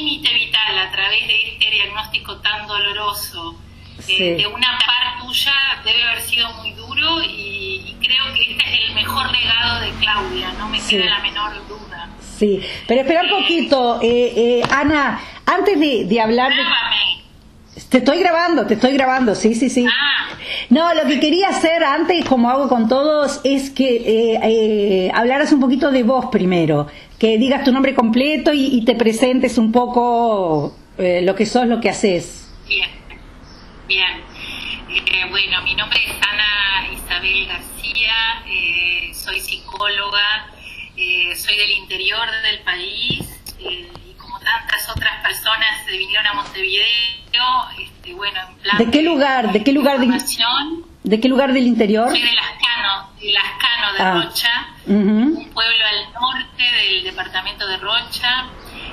límite vital a través de este diagnóstico tan doloroso de una par tuya debe haber sido muy duro y creo que este es el mejor legado de Claudia, no me queda la menor duda. Sí, pero espera un poquito, Ana, antes de hablar de... Te estoy grabando, sí. No, lo que quería hacer antes, como hago con todos, es que hablaras un poquito de vos primero, que digas tu nombre completo y te presentes un poco lo que sos, lo que haces. Bien. Bueno, mi nombre es Ana Isabel García, soy psicóloga, soy del interior del país y como tantas otras personas se vinieron a Montevideo, bueno, en plan ¿De qué lugar del interior? Soy de Lascano de Rocha, un pueblo al norte del departamento de Rocha,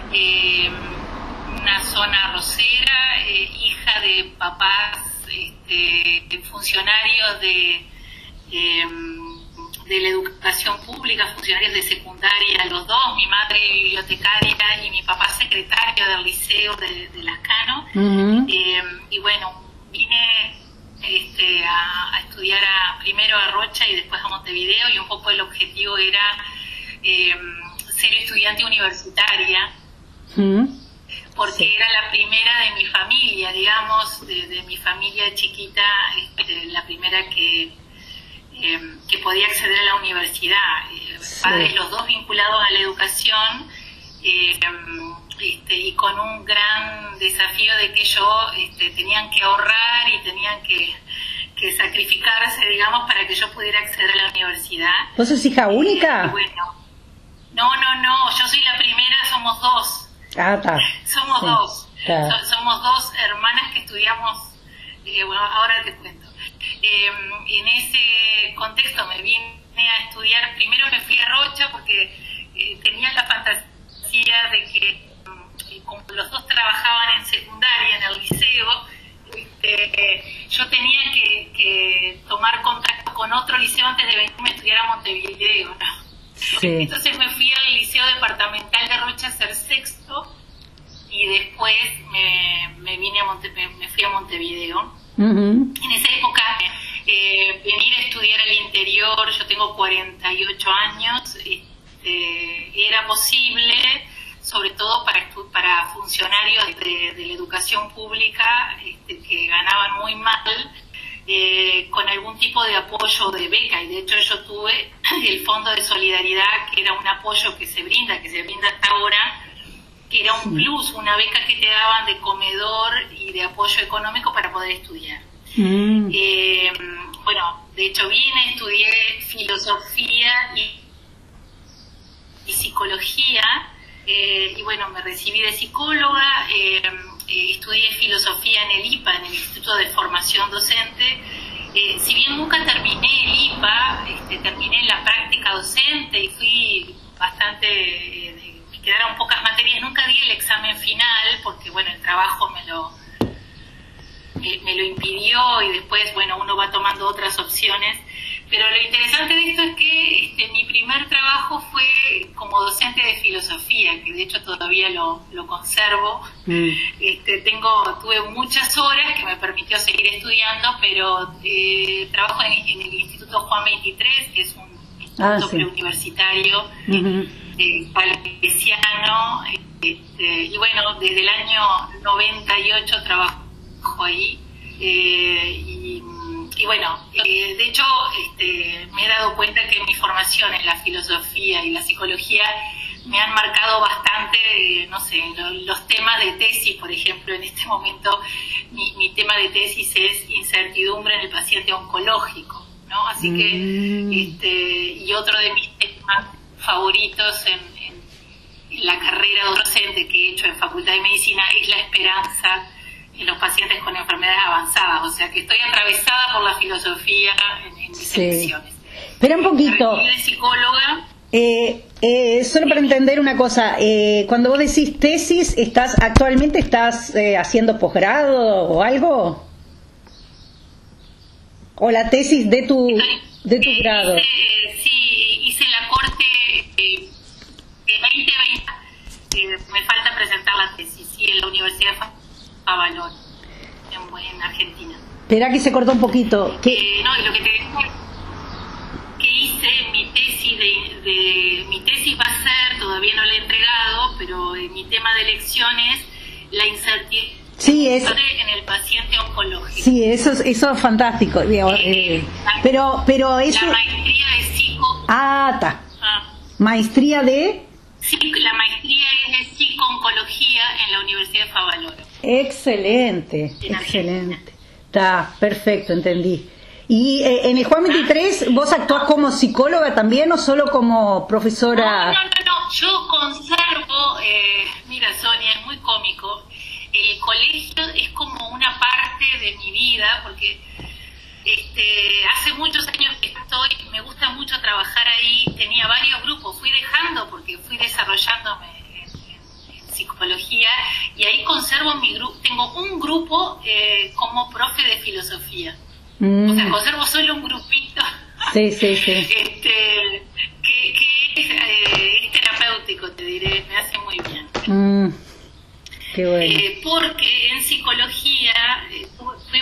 una zona arrocera, hija de papás funcionarios de la educación pública, funcionarios de secundaria, los dos, mi madre bibliotecaria y mi papá secretario del liceo de Lascano. Y bueno, vine a estudiar primero a Rocha y después a Montevideo, y un poco el objetivo era ser estudiante universitaria, porque era la primera de mi familia, digamos, de mi familia chiquita, la primera que podía acceder a la universidad. Padres los dos vinculados a la educación, y con un gran desafío de que ellos tenían que ahorrar y tenían que sacrificarse, digamos, para que yo pudiera acceder a la universidad. ¿Vos sos hija única? Bueno, no, yo soy la primera, somos dos. Somos dos. Somos dos hermanas que estudiamos, bueno, ahora te cuento. En ese contexto me vine a estudiar, primero me fui a Rocha porque tenía la fantasía de que como los dos trabajaban en secundaria, en el liceo, yo tenía que tomar contacto con otro liceo antes de venirme a estudiar a Montevideo, ¿no? Entonces me fui al Liceo Departamental de Rocha a hacer sexto y después me fui a Montevideo. En esa época venir a estudiar al interior, yo tengo 48 años, era posible, sobre todo para funcionarios de la educación pública que ganaban muy mal, con algún tipo de apoyo de beca, y de hecho yo tuve el Fondo de Solidaridad, que era un apoyo que se brinda hasta ahora, que era un plus, una beca que te daban de comedor y de apoyo económico para poder estudiar. Bueno, de hecho vine, estudié filosofía y psicología, y bueno, me recibí de psicóloga, estudié filosofía en el IPA, en el Instituto de Formación Docente. Si bien nunca terminé el IPA, terminé la práctica docente y fui bastante, me quedaron pocas materias, nunca di el examen final porque bueno, el trabajo me lo impidió, y después bueno, uno va tomando otras opciones. Pero lo interesante de esto es que mi primer trabajo fue como docente de filosofía, que de hecho todavía lo conservo. Tuve muchas horas que me permitió seguir estudiando, pero trabajo en el Instituto Juan 23, que es un instituto preuniversitario salesiano, y bueno, desde el año 98 trabajo ahí, y bueno, de hecho me he dado cuenta que mi formación en la filosofía y la psicología me han marcado bastante, no sé, los temas de tesis, por ejemplo. En este momento mi tema de tesis es incertidumbre en el paciente oncológico, ¿no? Así que, y otro de mis temas favoritos en la carrera docente que he hecho en Facultad de Medicina es la esperanza en los pacientes con enfermedades avanzadas, o sea que estoy atravesada por la filosofía en mis elecciones. Espera un poquito. De psicóloga. Solo para entender una cosa, cuando vos decís tesis, actualmente estás haciendo posgrado o algo, o la tesis de tu grado. Sí, hice la corte de 2020, me falta presentar la tesis. Espera que se cortó un poquito. No, y lo que te decía, que hice mi tesis va a ser, todavía no la he entregado, pero mi tema de elecciones, la incertidumbre en el paciente oncológico. Sí, eso es fantástico. Pero eso... La maestría de psico... Maestría de... Sí, la maestría es de psico-oncología en la Universidad de Favaloro. Excelente, excelente. Está perfecto, entendí. ¿Y en el Juan 23 vos actuás como psicóloga también o solo como profesora? No, yo conservo, mira Sonia, es muy cómico, el colegio es como una parte de mi vida, porque hace muchos años que estoy, me gusta mucho trabajar ahí, tenía varios grupos, fui dejando porque fui desarrollándome en psicología y ahí conservo mi grupo, tengo un grupo como profe de filosofía. O sea, conservo solo un grupito. Sí. que es terapéutico, te diré, me hace muy bien. Qué bueno. Porque en psicología fui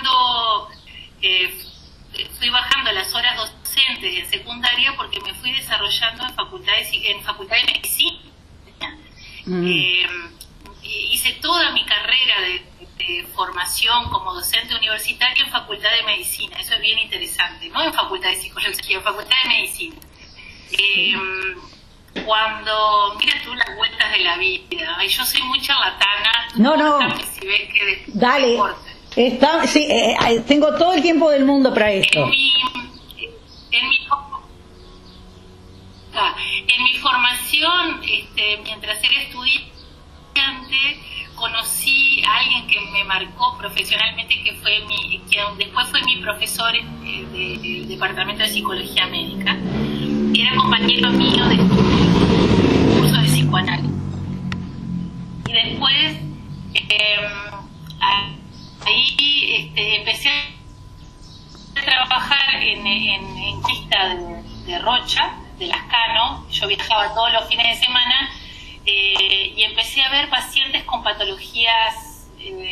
bajando las horas docentes en secundaria porque me fui desarrollando en facultad de medicina. Hice toda mi carrera de formación como docente universitario en facultad de medicina. Eso es bien interesante, no en facultad de psicología, en facultad de medicina. Cuando mira tú las vueltas de la vida, ay, yo soy muy charlatana. No. Si ves que dale. Tengo todo el tiempo del mundo para esto. En mi formación, mientras era estudiante, conocí a alguien que me marcó profesionalmente, quien después fue mi profesor del departamento de psicología médica. Era compañero mío de curso de psicoanálisis. Y después ahí empecé a trabajar en Quista de Rocha, de Lascano. Yo viajaba todos los fines de semana y empecé a ver pacientes con patologías,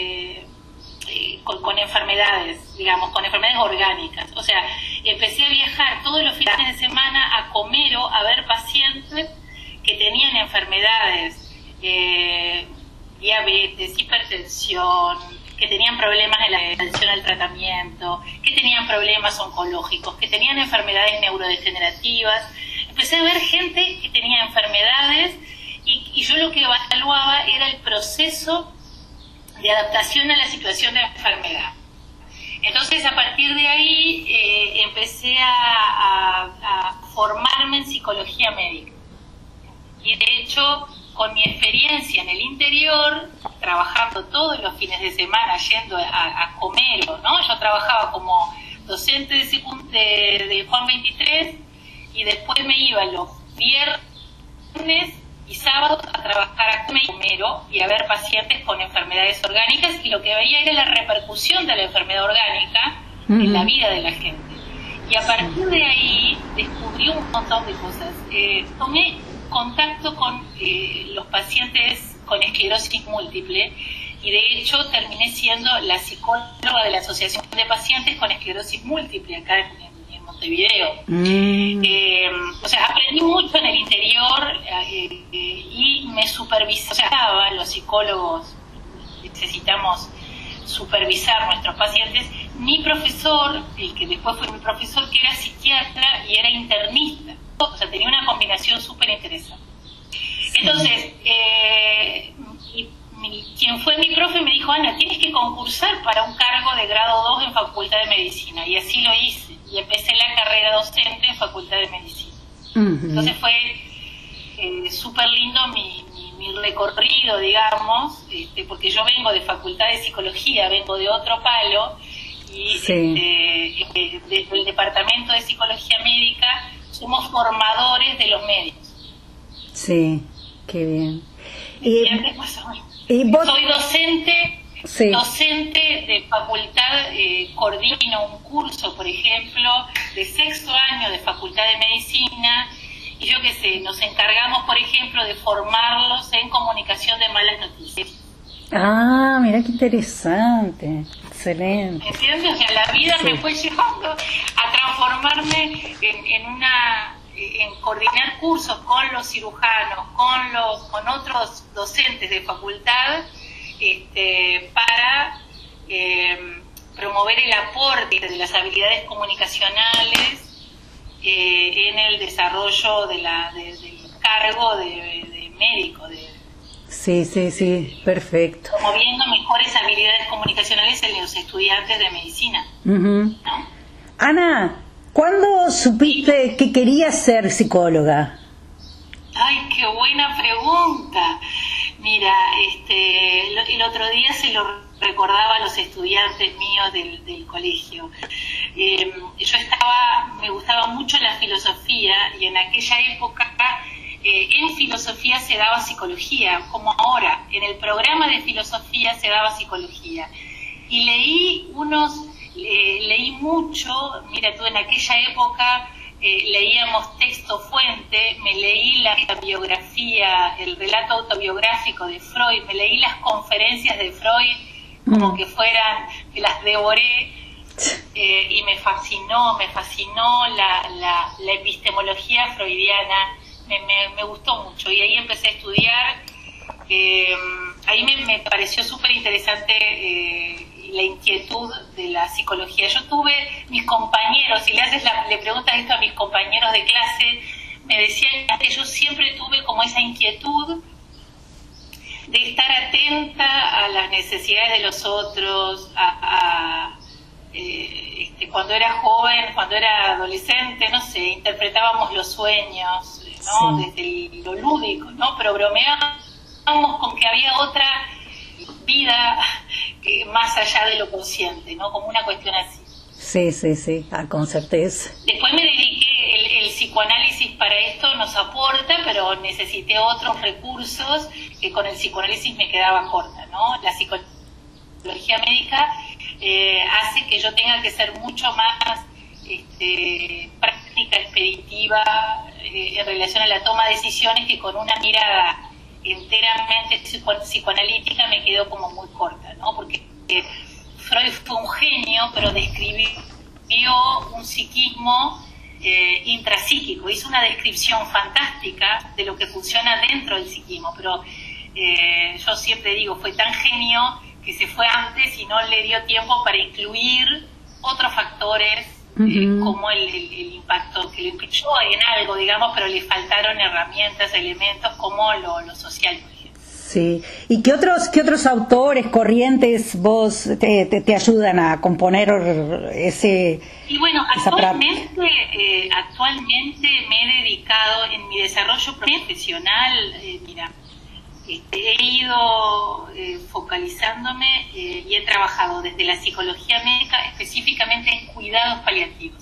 con enfermedades, digamos, con enfermedades orgánicas. O sea, empecé a viajar todos los fines de semana a Comero a ver pacientes que tenían enfermedades, diabetes, hipertensión, que tenían problemas en la atención al tratamiento, que tenían problemas oncológicos, que tenían enfermedades neurodegenerativas. Empecé a ver gente que tenía enfermedades y yo lo que evaluaba era el proceso de adaptación a la situación de la enfermedad. Entonces, a partir de ahí, empecé a formarme en psicología médica. Y de hecho, con mi experiencia en el interior, trabajando todos los fines de semana, yendo a Comero, ¿no? Yo trabajaba como docente de Juan 23 y después me iba los viernes y sábados a trabajar a Comero y a ver pacientes con enfermedades orgánicas, y lo que veía era la repercusión de la enfermedad orgánica en la vida de la gente. Y a partir de ahí descubrí un montón de cosas. Tomé contacto con los pacientes con esclerosis múltiple y de hecho terminé siendo la psicóloga de la Asociación de Pacientes con Esclerosis Múltiple acá en Montevideo. O sea, aprendí mucho en el interior y me supervisaba. Los psicólogos necesitamos supervisar nuestros pacientes. Mi profesor, el que después fue mi profesor, que era psiquiatra y era internista, o sea, tenía una combinación súper interesante. Entonces, quien fue mi profe me dijo: Ana, tienes que concursar para un cargo de grado 2 en Facultad de Medicina, y así lo hice, y empecé la carrera docente en Facultad de Medicina. Entonces fue súper lindo mi recorrido, digamos, porque yo vengo de Facultad de Psicología, vengo de otro palo, y desde el Departamento de Psicología Médica somos formadores de los médicos. Sí, qué bien. Soy docente de facultad, coordino un curso, por ejemplo, de 6º año de Facultad de Medicina, y yo qué sé, nos encargamos, por ejemplo, de formarlos en comunicación de malas noticias. Ah, mira qué interesante. Excelente. ¿Entiendes? O sea, la vida me fue llevando a transformarme en coordinar cursos con los cirujanos, con otros docentes de facultad, para promover el aporte de las habilidades comunicacionales en el desarrollo del cargo de médico. Sí, perfecto. Promoviendo mejores habilidades comunicacionales en los estudiantes de medicina. ¿No? Ana, ¿cuándo supiste que querías ser psicóloga? Ay, qué buena pregunta. Mira, el otro día se lo recordaba a los estudiantes míos del colegio. Me gustaba mucho la filosofía, y en aquella época en filosofía se daba psicología, como ahora. En el programa de filosofía se daba psicología. Y leí mucho. Mira tú, en aquella época leíamos texto fuente, me leí la biografía, el relato autobiográfico de Freud, me leí las conferencias de Freud como que me las devoré, y me fascinó la epistemología freudiana, me gustó mucho, y ahí empecé a estudiar. Ahí me pareció súper interesante la inquietud de la psicología. Yo tuve mis compañeros, si le preguntas esto a mis compañeros de clase, me decían que yo siempre tuve como esa inquietud de estar atenta a las necesidades de los otros, cuando era joven, cuando era adolescente, no sé, interpretábamos los sueños, ¿no? Sí. Desde lo lúdico, ¿no? Pero bromeábamos con que había otra vida más allá de lo consciente, ¿no? Como una cuestión así. Sí, con certeza. Después me dediqué, el psicoanálisis para esto nos aporta, pero necesité otros recursos que con el psicoanálisis me quedaba corta, ¿no? La psicología médica hace que yo tenga que ser mucho más práctica, expeditiva, en relación a la toma de decisiones, que con una mirada enteramente psicoanalítica me quedó como muy corta, ¿no? Porque Freud fue un genio, pero describió un psiquismo intrapsíquico, hizo una descripción fantástica de lo que funciona dentro del psiquismo, pero yo siempre digo, fue tan genio que se fue antes y no le dio tiempo para incluir otros factores, como el impacto, que lo implicó en algo, digamos, pero le faltaron herramientas, elementos como lo social, por ejemplo. Sí. ¿Y qué otros autores, corrientes vos te ayudan a componer ese? Y bueno, actualmente me he dedicado en mi desarrollo profesional, he ido focalizándome y he trabajado desde la psicología médica específicamente en cuidados paliativos.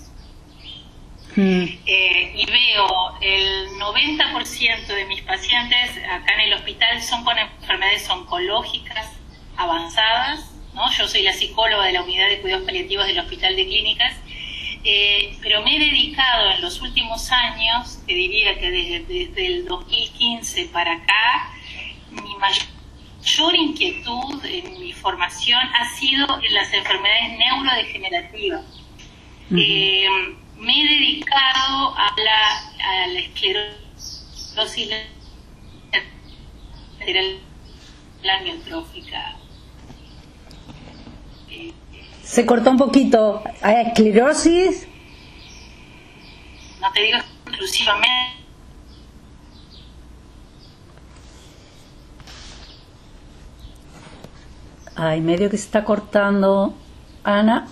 Y veo el 90% de mis pacientes acá en el hospital son con enfermedades oncológicas avanzadas, ¿no? Yo soy la psicóloga de la unidad de cuidados paliativos del Hospital de Clínicas, pero me he dedicado en los últimos años, te diría que desde el 2015 para acá, mi mayor inquietud en mi formación ha sido en las enfermedades neurodegenerativas. Me he dedicado a la esclerosis lateral amiotrófica. Se cortó un poquito. ¿Hay esclerosis? No te digo exclusivamente. Ay, medio que se está cortando. Ana.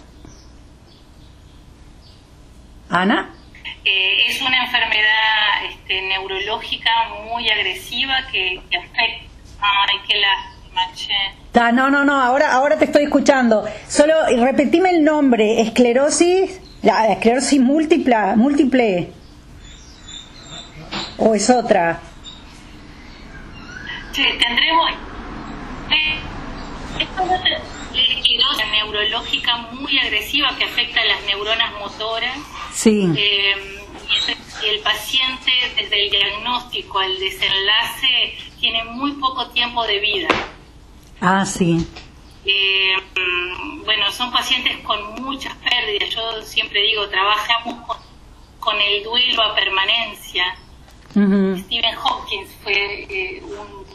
Es una enfermedad neurológica muy agresiva que afecta. Ay, qué lástima, No, ahora te estoy escuchando. Solo repetime el nombre. Esclerosis múltiple. ¿O es otra? Sí, tendremos esclerosis neurológica muy agresiva que afecta a las neuronas motoras. Sí. Y el paciente, desde el diagnóstico al desenlace, tiene muy poco tiempo de vida. Sí. Bueno, son pacientes con muchas pérdidas. Yo siempre digo, trabajamos con el duelo a permanencia. Stephen Hawking fue un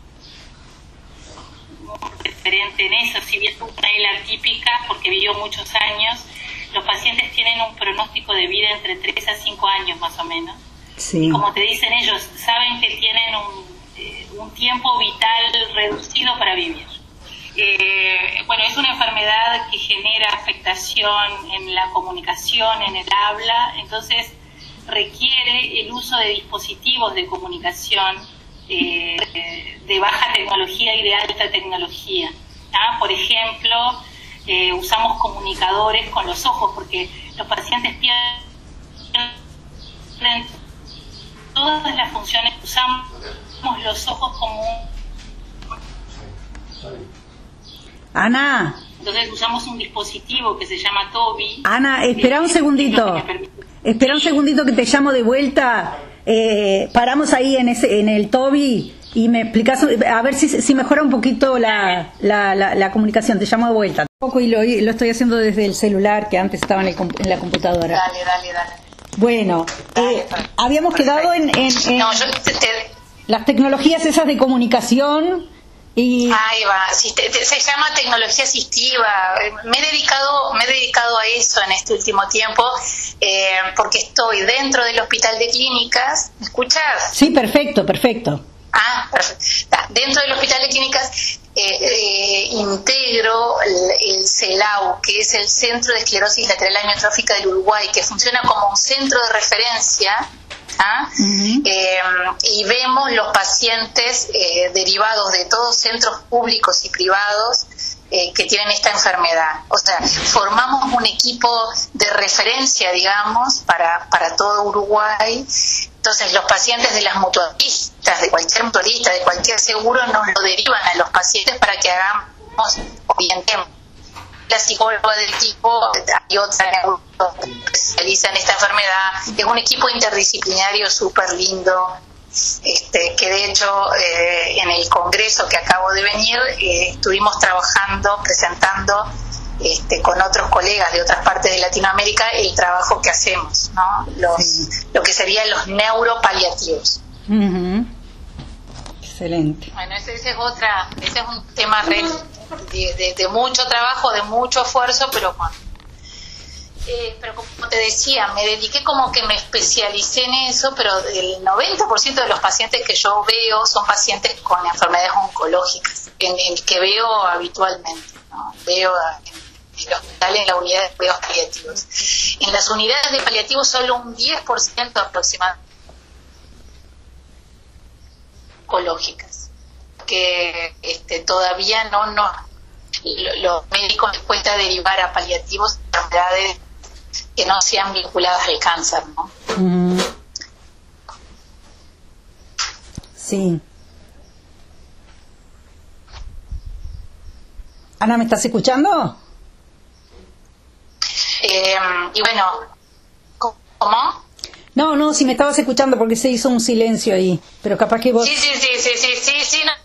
referente en eso, si bien fue una isla típica porque vivió muchos años. Los pacientes tienen un pronóstico de vida entre 3 a 5 años más o menos. Sí. Y como te dicen ellos, saben que tienen un tiempo vital reducido para vivir. Bueno, es una enfermedad que genera afectación en la comunicación, en el habla, entonces requiere el uso de dispositivos de comunicación de baja tecnología y de alta tecnología. Por ejemplo, usamos comunicadores con los ojos porque los pacientes pierden todas las funciones. Usamos los ojos como Ana. Entonces usamos un dispositivo que se llama Tobii. Ana, espera un segundito. Espera un segundito que te llamo de vuelta. Paramos ahí en el Tobii y me explicas, a ver si mejora un poquito la comunicación. Te llamo de vuelta. Y lo estoy haciendo desde el celular, que antes estaba en la computadora. Dale. Bueno, habíamos quedado en No, las tecnologías esas de comunicación. Ahí va, se llama tecnología asistiva. Me he dedicado a eso en este último tiempo porque estoy dentro del hospital de clínicas. ¿Me escuchas? Sí, perfecto. Perfecto. Dentro del hospital de clínicas integro el CELAU, que es el Centro de Esclerosis Lateral Amiotrófica del Uruguay, que funciona como un centro de referencia. Y vemos los pacientes derivados de todos centros públicos y privados que tienen esta enfermedad. O sea, formamos un equipo de referencia, digamos, para todo Uruguay. Entonces, los pacientes de las mutualistas, de cualquier mutualista, de cualquier seguro, nos lo derivan a los pacientes para que orientemos. La psicóloga del equipo y otra que especializa en esta enfermedad. Es un equipo interdisciplinario súper lindo, que de hecho en el congreso que acabo de venir estuvimos trabajando, presentando con otros colegas de otras partes de Latinoamérica el trabajo que hacemos, ¿no? Lo que serían los neuropaliativos. Excelente. Bueno, ese es un tema de mucho trabajo, de mucho esfuerzo, pero como te decía, me dediqué como que me especialicé en eso, pero el 90% de los pacientes que yo veo son pacientes con enfermedades oncológicas, que veo habitualmente, ¿no? Veo en el hospital, en la unidad de cuidados paliativos. En las unidades de paliativos solo un 10% aproximadamente oncológicas, que todavía no los médicos les cuesta derivar a paliativos enfermedades que no sean vinculadas al cáncer, ¿no? Sí. Ana, ¿me estás escuchando? Y bueno, ¿cómo? No, si me estabas escuchando porque se hizo un silencio ahí, pero capaz que vos... Sí, no.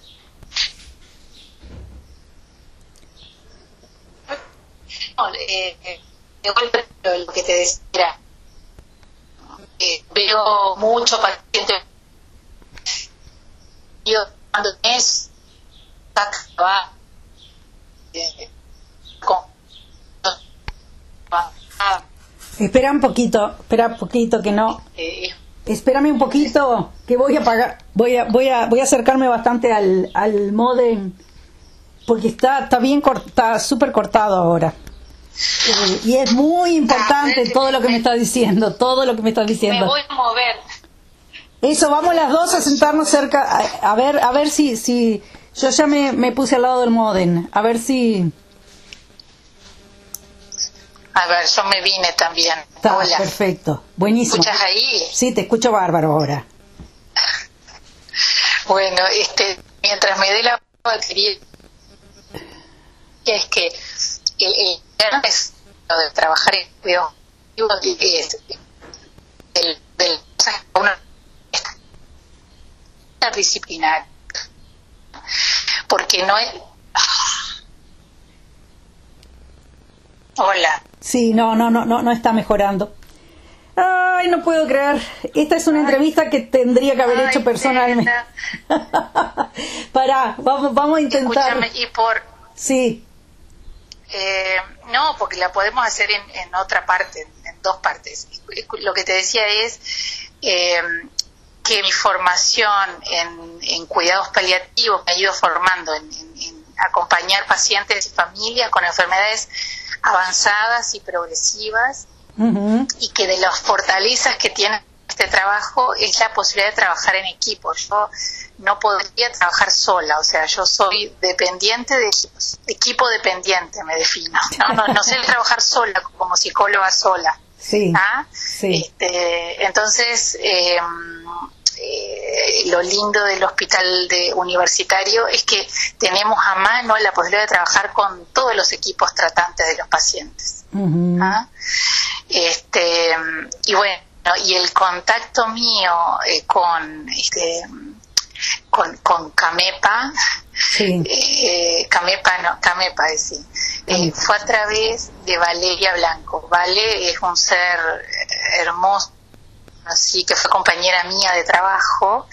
De vuelta lo que te decía, veo mucho paciente yo cuando es espera un poquito que no. Espérame un poquito que voy a apagar, voy a acercarme bastante al módem porque está súper cortado ahora. Y es muy importante todo lo que me estás diciendo. Me voy a mover. Eso, vamos las dos a sentarnos cerca, a ver si yo ya me puse al lado del módem, a ver si... A ver, yo me vine también. Hola. Perfecto, buenísimo. ¿Me escuchas ahí? Sí, te escucho bárbaro ahora. Bueno, mientras me dé la batería, es que el de trabajar en cuidado es del interdisciplinar, porque no es Hola. Sí, no está mejorando. Ay, no puedo creer. Esta es una entrevista que tendría que haber hecho personalmente. Pará, vamos a intentar. Escúchame, Sí. No, porque la podemos hacer en otra parte, en dos partes. Lo que te decía es que mi formación en cuidados paliativos me ha ido formando en acompañar pacientes y familias con enfermedades avanzadas y progresivas, y que de las fortalezas que tiene este trabajo es la posibilidad de trabajar en equipo. Yo no podría trabajar sola, o sea, yo soy dependiente de equipos, equipo dependiente me defino, no sé trabajar sola como psicóloga sola. Sí, sí. Entonces lo lindo del hospital universitario es que tenemos a mano la posibilidad de trabajar con todos los equipos tratantes de los pacientes. Y bueno, y el contacto mío con Camepa, sí. Camepa fue a través de Valeria Blanco. Vale es un ser hermoso, así que fue compañera mía de trabajo,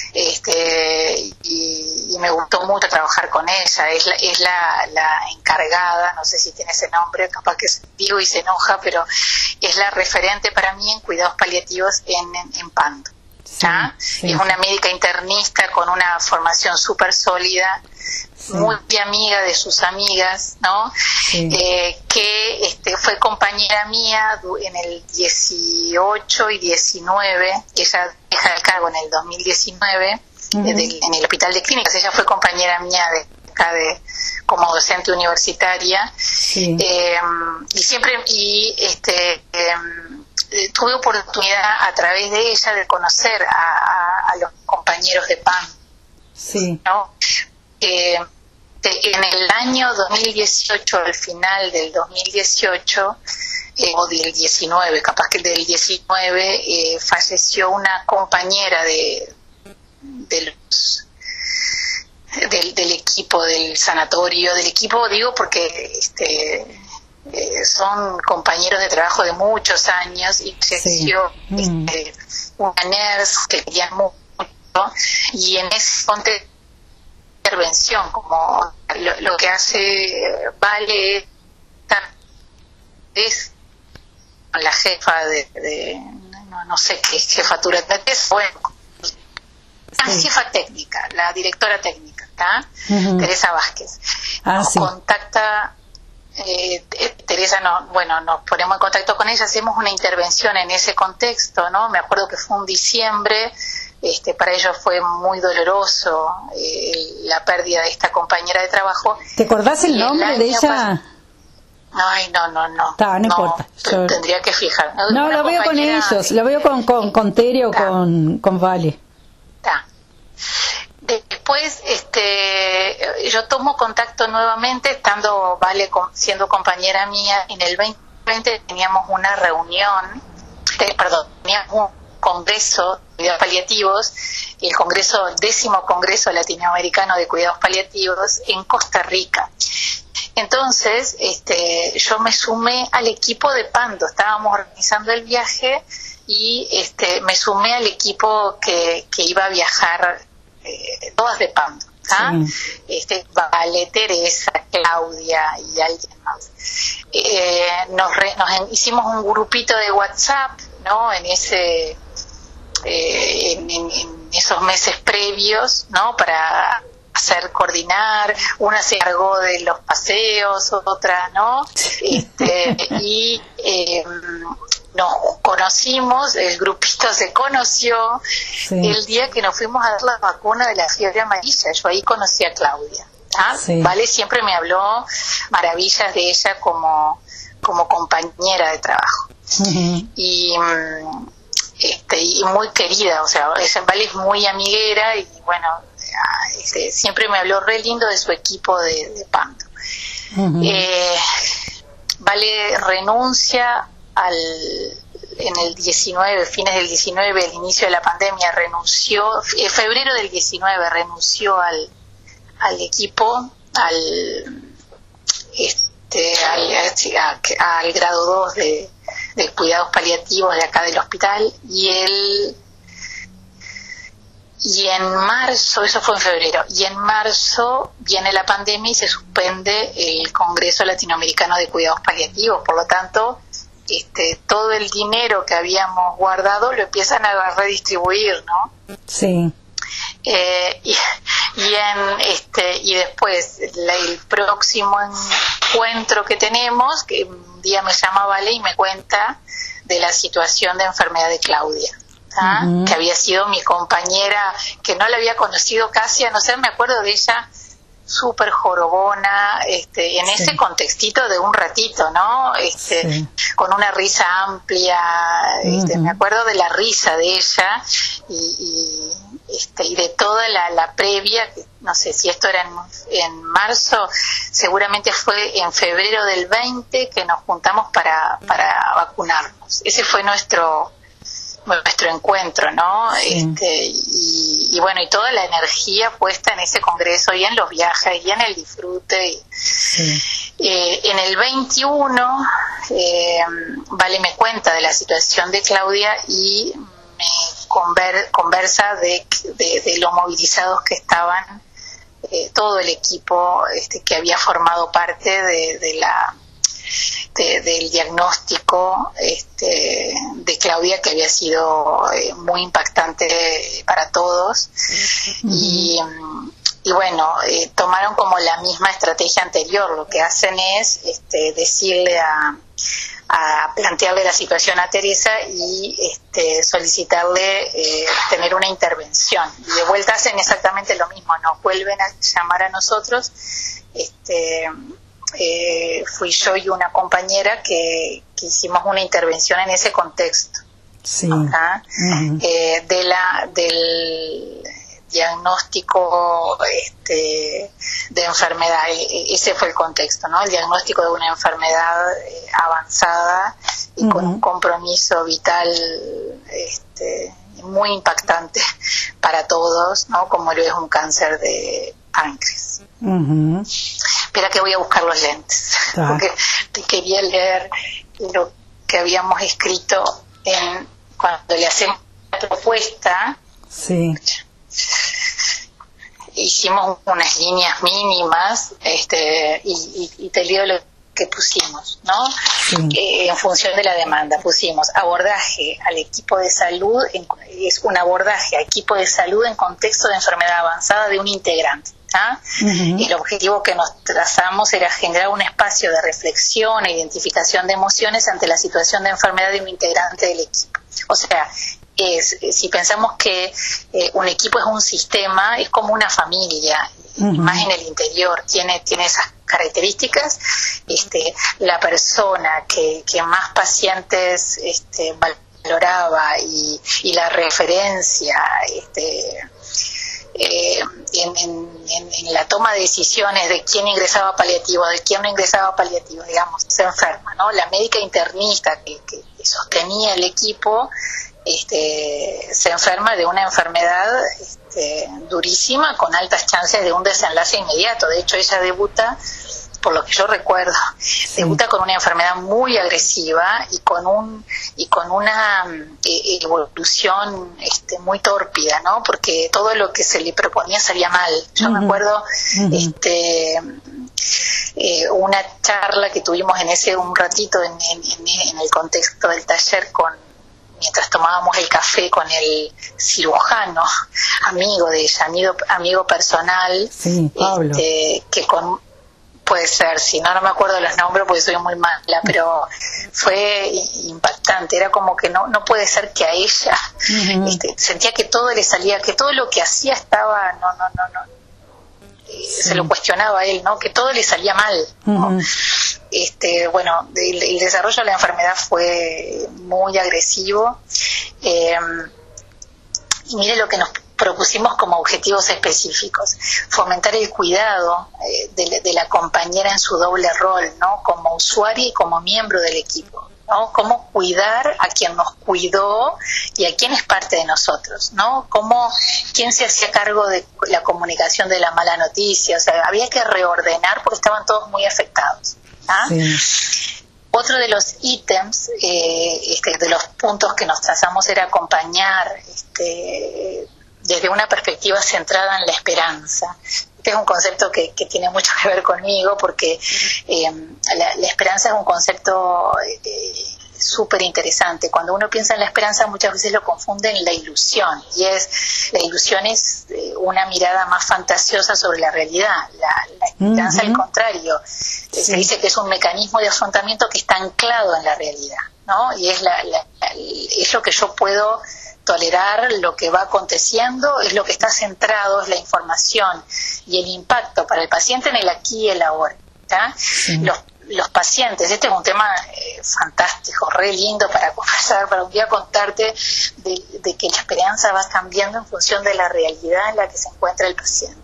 y me gustó mucho trabajar con ella. Es la encargada, no sé si tiene ese nombre, capaz que digo y se enoja, pero es la referente para mí en cuidados paliativos en Pando. Sí. Es una médica internista con una formación súper sólida, sí. Muy amiga de sus amigas, ¿no? Sí. Que fue compañera mía en el 18 y 19, ella deja el cargo en el 2019, en el Hospital de Clínicas. Ella fue compañera mía como docente universitaria, sí. Y siempre tuve oportunidad a través de ella de conocer a los compañeros de PAN, sí. ¿no? En el año 2018, al final del 2018, o del 19, capaz que del 19, falleció una compañera del equipo del sanatorio, del equipo digo porque son compañeros de trabajo de muchos años, y falleció una nurse que querían mucho, y en ese contexto de intervención, como lo que hace Vale es la jefa de no sé qué jefatura es, bueno, jefa técnica, la directora técnica, Teresa Vázquez, contacta. Teresa, nos ponemos en contacto con ella, hacemos una intervención en ese contexto, ¿no? Me acuerdo que fue un diciembre, para ellos fue muy doloroso la pérdida de esta compañera de trabajo. ¿Te acordás el nombre de ella? Ay, no. No importa. Tendría que fijar. No, lo veo con ellos, lo veo con Tere o con Vale. Después yo tomo contacto nuevamente, estando Vale siendo compañera mía. En el 2020 teníamos una reunión, teníamos un congreso de cuidados paliativos, el 10º Congreso Latinoamericano de Cuidados Paliativos en Costa Rica. Entonces yo me sumé al equipo de Pando, estábamos organizando el viaje y me sumé al equipo que iba a viajar, todas de Pando, sí. Vale, Teresa, Claudia y alguien más. Nos hicimos un grupito de WhatsApp, ¿no? En esos meses previos, ¿no? Para coordinar. Una se encargó de los paseos, otra, ¿no? Y nos conocimos, el grupito se conoció, sí. El día que nos fuimos a dar la vacuna de la fiebre amarilla. Yo ahí conocí a Claudia, sí. Vale siempre me habló maravillas de ella como compañera de trabajo, y muy querida, o sea, Vale es muy amiguera, y bueno, siempre me habló re lindo de su equipo de Pando. Vale renuncia en el 19, fines del 19, el inicio de la pandemia, renunció, febrero del 19 renunció al equipo, al grado 2 de cuidados paliativos de acá del hospital, y en marzo, eso fue en febrero, y en marzo viene la pandemia y se suspende el Congreso Latinoamericano de Cuidados Paliativos. Por lo tanto, todo el dinero que habíamos guardado lo empiezan a redistribuir, ¿no? Sí. Y después el próximo encuentro que tenemos, que un día me llama Vale y me cuenta de la situación de enfermedad de Claudia, que había sido mi compañera, que no la había conocido casi, a no ser, me acuerdo de ella súper jorobona, en ese contextito de un ratito, ¿no? Con una risa amplia, me acuerdo de la risa de ella y de toda la previa, no sé si esto era en marzo, seguramente fue en febrero del 20 que nos juntamos para vacunarnos. Ese fue nuestro encuentro, ¿no? Y bueno, y toda la energía puesta en ese congreso y en los viajes y en el disfrute. En el 21 Vale me cuenta de la situación de Claudia y me conversa de lo movilizados que estaban todo el equipo que había formado parte del diagnóstico de Claudia, que había sido muy impactante para todos. Y bueno, tomaron como la misma estrategia anterior. Lo que hacen es decirle a plantearle la situación a Teresa y solicitarle tener una intervención. Y de vuelta hacen exactamente lo mismo, nos vuelven a llamar a nosotros. Fui yo y una compañera que hicimos una intervención en ese contexto. Sí. Del diagnóstico de enfermedad. Ese fue el contexto, ¿no? El diagnóstico de una enfermedad avanzada y con un compromiso vital muy impactante para todos, ¿no? Como lo es un cáncer de páncreas. Espera que voy a buscar los lentes, porque te quería leer lo que habíamos escrito cuando le hacemos la propuesta. Sí. Hicimos unas líneas mínimas y te leo lo que pusimos, ¿no? Sí. En función de la demanda pusimos abordaje al equipo de salud, es un abordaje a equipo de salud en contexto de enfermedad avanzada de un integrante. El objetivo que nos trazamos era generar un espacio de reflexión e identificación de emociones ante la situación de enfermedad de un integrante del equipo. O sea, si pensamos que un equipo es un sistema, es como una familia, más en el interior, tiene esas características. La persona que más pacientes valoraba y la referencia en la toma de decisiones de quién ingresaba paliativo, de quién no ingresaba paliativo, digamos, se enferma, ¿no? La médica internista que sostenía el equipo se enferma de una enfermedad durísima, con altas chances de un desenlace inmediato. De hecho, ella debuta, por lo que yo recuerdo, debuta con una enfermedad muy agresiva y con una evolución muy tórpida, ¿no? Porque todo lo que se le proponía salía mal. Yo me acuerdo una charla que tuvimos un ratito en el contexto del taller mientras tomábamos el café con el cirujano, amigo de ella, amigo personal, Pablo. Puede ser, si no me acuerdo de los nombres porque soy muy mala, pero fue impactante. Era como que no puede ser que a ella sentía que todo le salía, que todo lo que hacía estaba se lo cuestionaba a él, ¿no? Que todo le salía mal, ¿no? Bueno, el desarrollo de la enfermedad fue muy agresivo, y mire lo que nos propusimos como objetivos específicos: fomentar el cuidado de la compañera en su doble rol, ¿no? Como usuaria y como miembro del equipo. ¿no? Cómo cuidar a quien nos cuidó y a quien es parte de nosotros, ¿no? Quién se hacía cargo de la comunicación de la mala noticia. O sea, había que reordenar porque estaban todos muy afectados. Sí. Otro de los ítems, de los puntos que nos trazamos era acompañar desde una perspectiva centrada en la esperanza. Este es un concepto que tiene mucho que ver conmigo porque la esperanza es un concepto súper interesante. Cuando uno piensa en la esperanza muchas veces lo confunde en la ilusión, y la ilusión es una mirada más fantasiosa sobre la realidad. La esperanza, al contrario, se dice que es un mecanismo de afrontamiento que está anclado en la realidad, ¿no? Y es lo que yo puedo tolerar, lo que va aconteciendo, es lo que está centrado, es la información y el impacto para el paciente en el aquí y el ahora. Sí. Los pacientes, este es un tema fantástico, re lindo para conversar, para un día contarte de que la esperanza va cambiando en función de la realidad en la que se encuentra el paciente.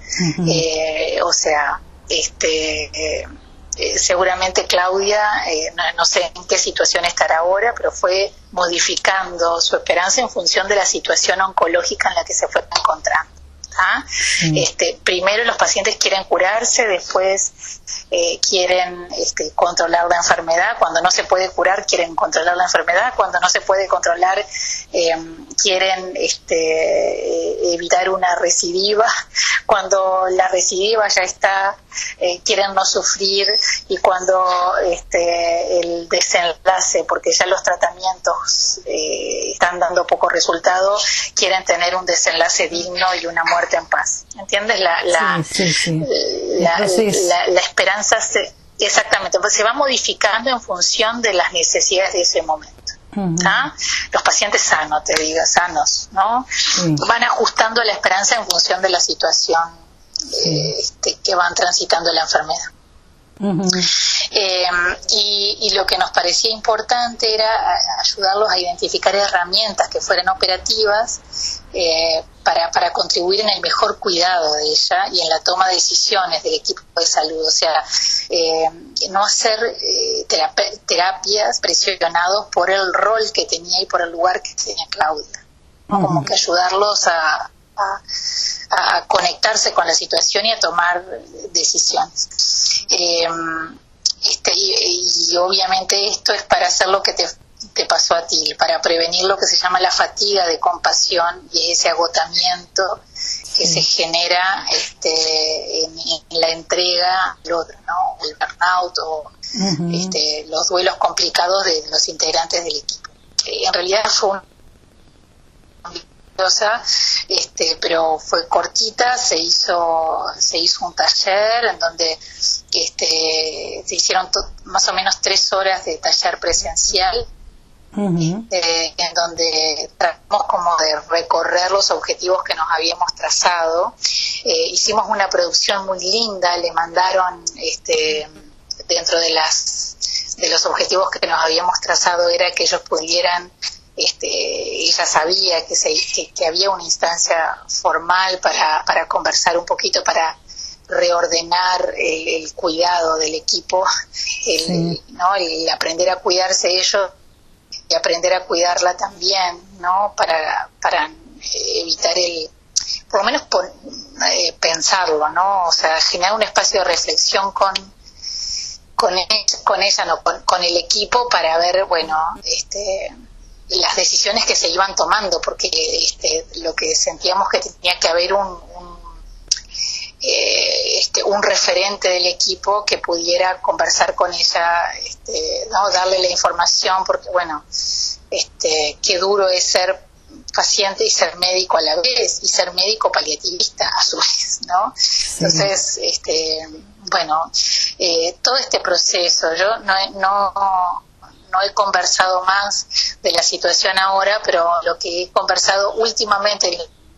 Seguramente Claudia, no sé en qué situación estará ahora, pero fue modificando su esperanza en función de la situación oncológica en la que se fue encontrando. Primero los pacientes quieren curarse, después quieren controlar la enfermedad. Cuando no se puede curar, quieren controlar la enfermedad. Cuando no se puede controlar, quieren evitar una recidiva. Cuando la recidiva ya está, quieren no sufrir. Y cuando el desenlace, porque ya los tratamientos están dando poco resultado, quieren tener un desenlace digno y una muerte en paz. ¿Entiendes? La esperanza exactamente, pues se va modificando en función de las necesidades de ese momento. Los pacientes sanos, ¿no? Van ajustando la esperanza en función de la situación que van transitando la enfermedad. Y lo que nos parecía importante era ayudarlos a identificar herramientas que fueran operativas para contribuir en el mejor cuidado de ella y en la toma de decisiones del equipo de salud. O sea, no hacer terapias presionados por el rol que tenía y por el lugar que tenía Claudia, ¿no? Como que ayudarlos a conectarse con la situación y a tomar decisiones. Y obviamente esto es para hacer lo que te pasó a ti, para prevenir lo que se llama la fatiga de compasión y ese agotamiento que se genera en la entrega al otro, ¿no? El burnout o los duelos complicados de los integrantes del equipo. En realidad fue pero fue cortita. Se hizo un taller en donde se hicieron más o menos 3 horas de taller presencial, en donde tratamos como de recorrer los objetivos que nos habíamos trazado. Hicimos una producción muy linda, le mandaron dentro de los objetivos que nos habíamos trazado era que ellos pudieran, ella sabía que había una instancia formal para conversar un poquito, para reordenar el cuidado del equipo, ¿no? El aprender a cuidarse ellos y aprender a cuidarla también, ¿no? Para evitar por lo menos pensarlo, ¿no? O sea, generar un espacio de reflexión con ella, no, con el equipo, para ver, bueno, las decisiones que se iban tomando, porque lo que sentíamos que tenía que haber un referente del equipo que pudiera conversar con ella, ¿no? Darle la información, porque bueno, qué duro es ser paciente y ser médico a la vez, y ser médico paliativista a su vez, ¿no? Entonces, bueno, todo este proceso, yo no he conversado más de la situación ahora, pero lo que he conversado últimamente,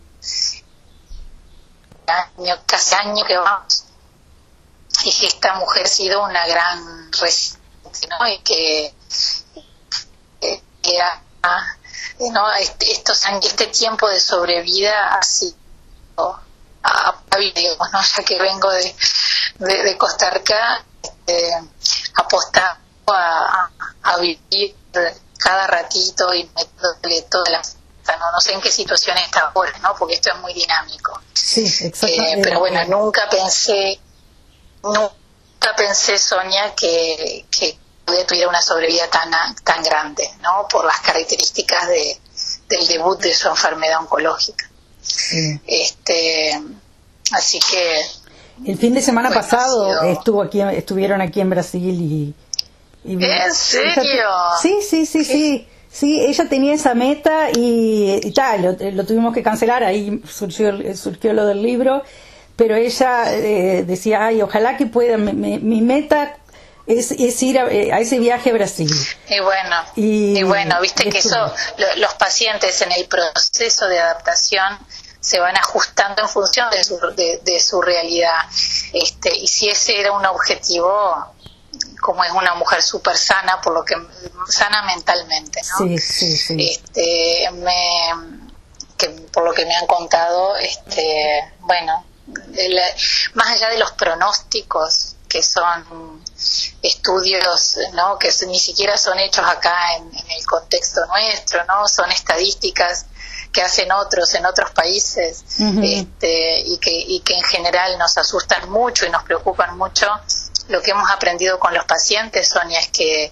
casi año que vamos, es que esta mujer ha sido una gran resistente, ¿no? Y que ¿no? Este tiempo de sobrevida ha sido digamos, ¿no? Ya que vengo de Costa Rica, apostando a vivir cada ratito y metiéndole todas las... No sé en qué situación está ahora, ¿no? Porque esto es muy dinámico. Sí, exactamente. Pero bueno, nunca pensé, Sonia, que tuviera una sobrevida tan grande, ¿no? Por las características del debut de su enfermedad oncológica. Sí. Así que... El fin de semana pasado estuvieron aquí en Brasil y ¿En serio? Sí, ella tenía esa meta y tal, lo tuvimos que cancelar, ahí surgió lo del libro, pero ella decía, ay, ojalá que pueda, mi meta es ir a ese viaje a Brasil. Y bueno, viste que eso, los pacientes en el proceso de adaptación se van ajustando en función de su realidad, y si ese era un objetivo, como es una mujer súper sana, sana mentalmente, ¿no? Sí. Por lo que me han contado, bueno, más allá de los pronósticos, que son estudios, ¿no? Que ni siquiera son hechos acá en el contexto nuestro, ¿no? Son estadísticas que hacen otros en otros países, y que en general nos asustan mucho y nos preocupan mucho. Lo que hemos aprendido con los pacientes, Sonia, es que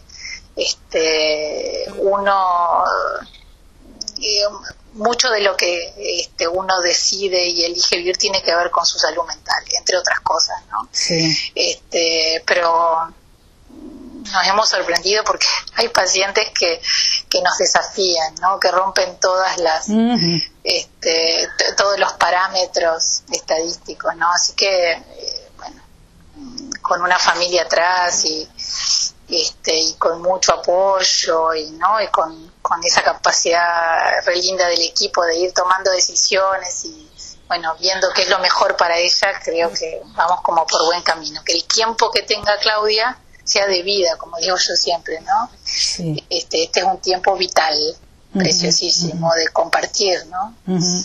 mucho de lo que uno decide y elige vivir tiene que ver con su salud mental, entre otras cosas, ¿no? Sí. Pero nos hemos sorprendido porque hay pacientes que nos desafían, ¿no? Que rompen todas las todos los parámetros estadísticos, ¿no? Así que bueno, con una familia atrás y con mucho apoyo y con esa capacidad re linda del equipo de ir tomando decisiones y bueno, viendo qué es lo mejor para ella, creo que vamos como por buen camino. Que el tiempo que tenga Claudia sea de vida, como digo yo siempre, ¿no? Sí. Este es un tiempo vital, preciosísimo, de compartir, ¿no?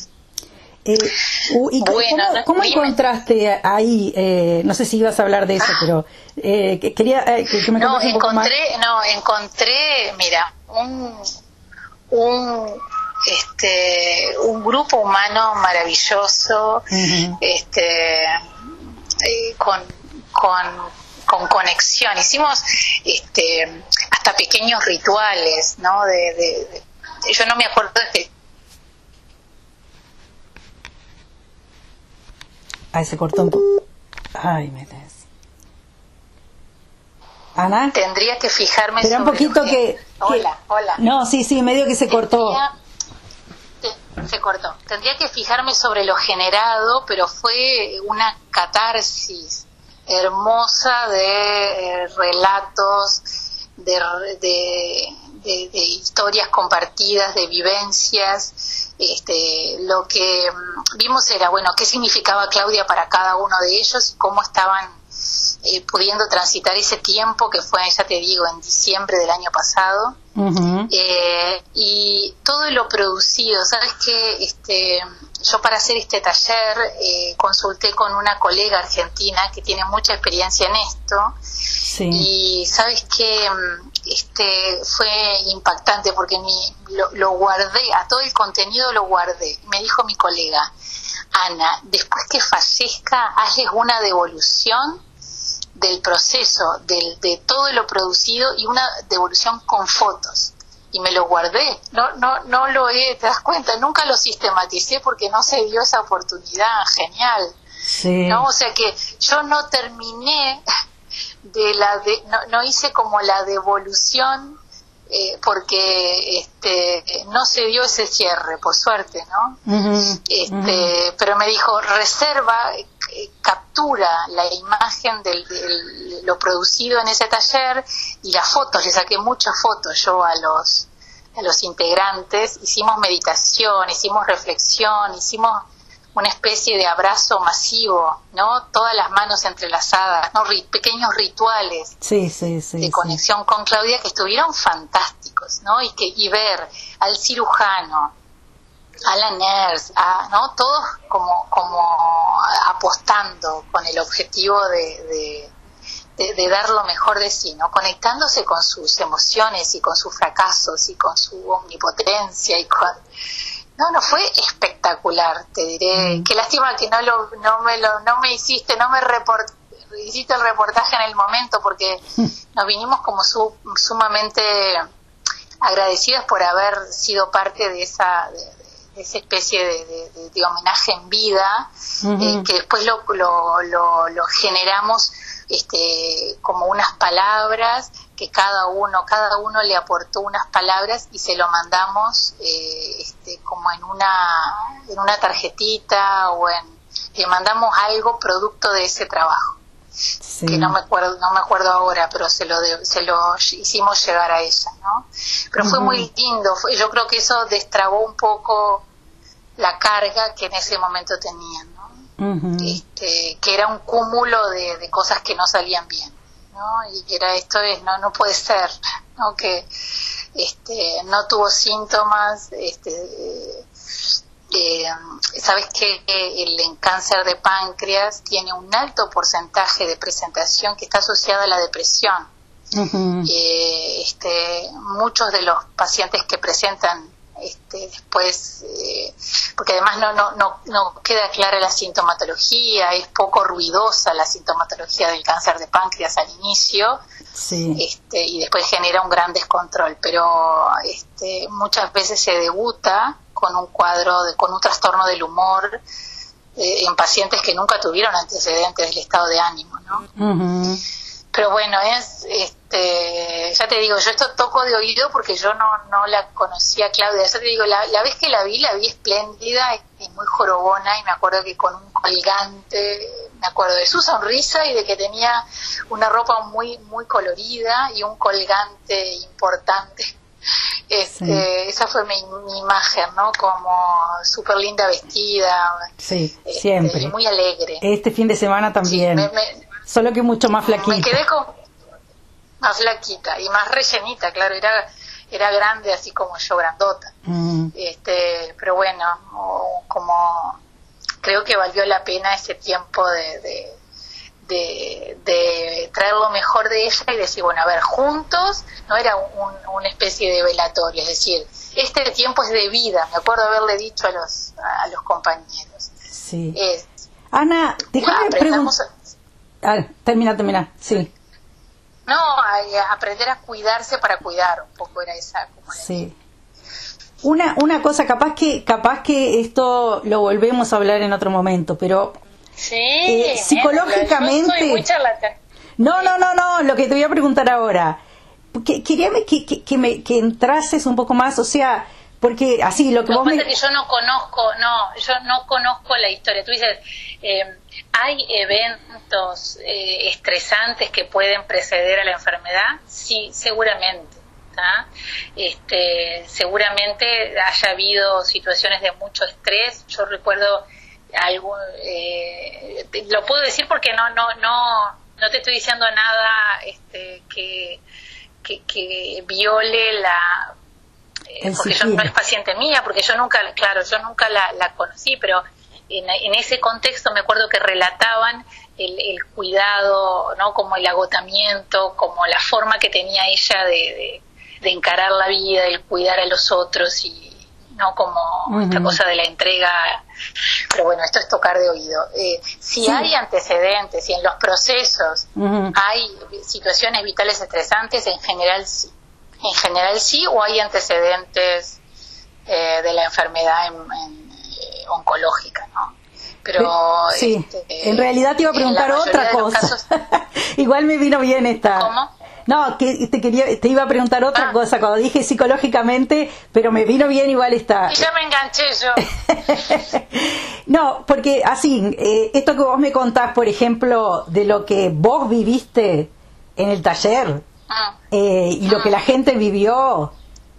¿Y cómo encontraste ahí? No sé si ibas a hablar de eso, pero quería que me contaras un poco más. Encontré, mira, un grupo humano maravilloso, con conexión. Hicimos hasta pequeños rituales, ¿no? Yo no me acuerdo de... Ay, se cortó un poco. Ay, me des. Ana. Tendría que fijarme sobre... Espera un poquito que... Hola. No, sí, medio que se cortó. Se cortó. Tendría que fijarme sobre lo generado, pero fue una catarsis hermosa de relatos, de historias compartidas, de vivencias. Lo que vimos era, bueno, qué significaba Claudia para cada uno de ellos y cómo estaban pudiendo transitar ese tiempo que fue, ya te digo, en diciembre del año pasado. Y todo lo producido, sabes que yo para hacer este taller consulté con una colega argentina que tiene mucha experiencia en esto. Sí. Y sabes que fue impactante porque lo guardé, a todo el contenido lo guardé. Me dijo mi colega, Ana, después que fallezca, hazles una devolución del proceso, de todo lo producido y una devolución con fotos. Y me lo guardé, no lo te das cuenta, nunca lo sistematicé porque no se dio esa oportunidad. Genial. Sí. ¿No? O sea que yo no terminé no hice como la devolución porque no se dio ese cierre, por suerte, ¿no? Pero me dijo, reserva, captura la imagen de lo producido en ese taller y las fotos. Le saqué muchas fotos yo a los integrantes. Hicimos meditación, hicimos reflexión, hicimos una especie de abrazo masivo, ¿no? Todas las manos entrelazadas, ¿no? Pequeños rituales de conexión con Claudia que estuvieron fantásticos, ¿no? Y ver al cirujano, a la nurse, ¿no? Todos como apostando con el objetivo de de dar lo mejor de sí, ¿no? Conectándose con sus emociones y con sus fracasos y con su omnipotencia y con... No, fue espectacular, te diré. Qué lástima que no me hiciste el reportaje en el momento, porque nos vinimos como sumamente agradecidos por haber sido parte de esa especie de homenaje en vida, que después lo generamos como unas palabras que cada uno le aportó unas palabras y se lo mandamos como en una tarjetita le mandamos algo producto de ese trabajo. Sí. Que no me acuerdo ahora, pero se lo hicimos llegar a ella, ¿no? Pero fue muy lindo, yo creo que eso destrabó un poco la carga que en ese momento tenía, ¿no? Que era un cúmulo de cosas que no salían bien, ¿no? Y era no puede ser, ¿no? Que no tuvo síntomas, sabes que el cáncer de páncreas tiene un alto porcentaje de presentación que está asociada a la depresión. Muchos de los pacientes que presentan después, porque además no queda clara la sintomatología, es poco ruidosa la sintomatología del cáncer de páncreas al inicio, y después genera un gran descontrol, pero muchas veces se debuta con un con un trastorno del humor en pacientes que nunca tuvieron antecedentes del estado de ánimo, ¿no? Pero bueno, ya te digo, yo esto toco de oído porque yo no la conocía, Claudia. Ya te digo, la vez que la vi espléndida y muy jorobona, y me acuerdo que con un colgante, me acuerdo de su sonrisa y de que tenía una ropa muy muy colorida y un colgante importante. Esa fue mi imagen, ¿no? Como súper linda vestida. Sí, siempre. Y muy alegre. Este fin de semana también. Sí, solo que mucho más flaquita. Me quedé más flaquita y más rellenita, claro, era grande así como yo, grandota. Pero bueno, como creo que valió la pena ese tiempo de traer lo mejor de ella y decir, bueno, a ver, juntos, no era una especie de velatorio, es decir, este tiempo es de vida, me acuerdo haberle dicho a los compañeros. Sí. Ana, déjame preguntar. Termina, sí. No, aprender a cuidarse para cuidar, un poco era esa. Sí. Una cosa, capaz que esto lo volvemos a hablar en otro momento, pero psicológicamente... Yo soy muy charlatán. No, lo que te voy a preguntar ahora. Quería que entrases un poco más, o sea... Porque así lo que vos pasa es que yo no conozco la historia. Tú dices, ¿hay eventos estresantes que pueden preceder a la enfermedad? Sí, seguramente. Seguramente haya habido situaciones de mucho estrés. Yo recuerdo lo puedo decir porque no te estoy diciendo nada que viole la... porque yo no es paciente mía, porque yo nunca la conocí, pero en ese contexto me acuerdo que relataban el cuidado, ¿no? Como el agotamiento, como la forma que tenía ella de encarar la vida, el cuidar a los otros y no como esta cosa de la entrega. Pero bueno, esto es tocar de oído. Si hay antecedentes, si en los procesos hay situaciones vitales estresantes, en general sí, o hay antecedentes de la enfermedad oncológica, ¿no? Pero en realidad te iba a preguntar otra cosa. Igual me vino bien esta. ¿Cómo? No, que te iba a preguntar otra cosa cuando dije psicológicamente, pero me vino bien igual esta. Y ya me enganché yo. No, porque así, esto que vos me contás, por ejemplo, de lo que vos viviste en el taller y lo que la gente vivió,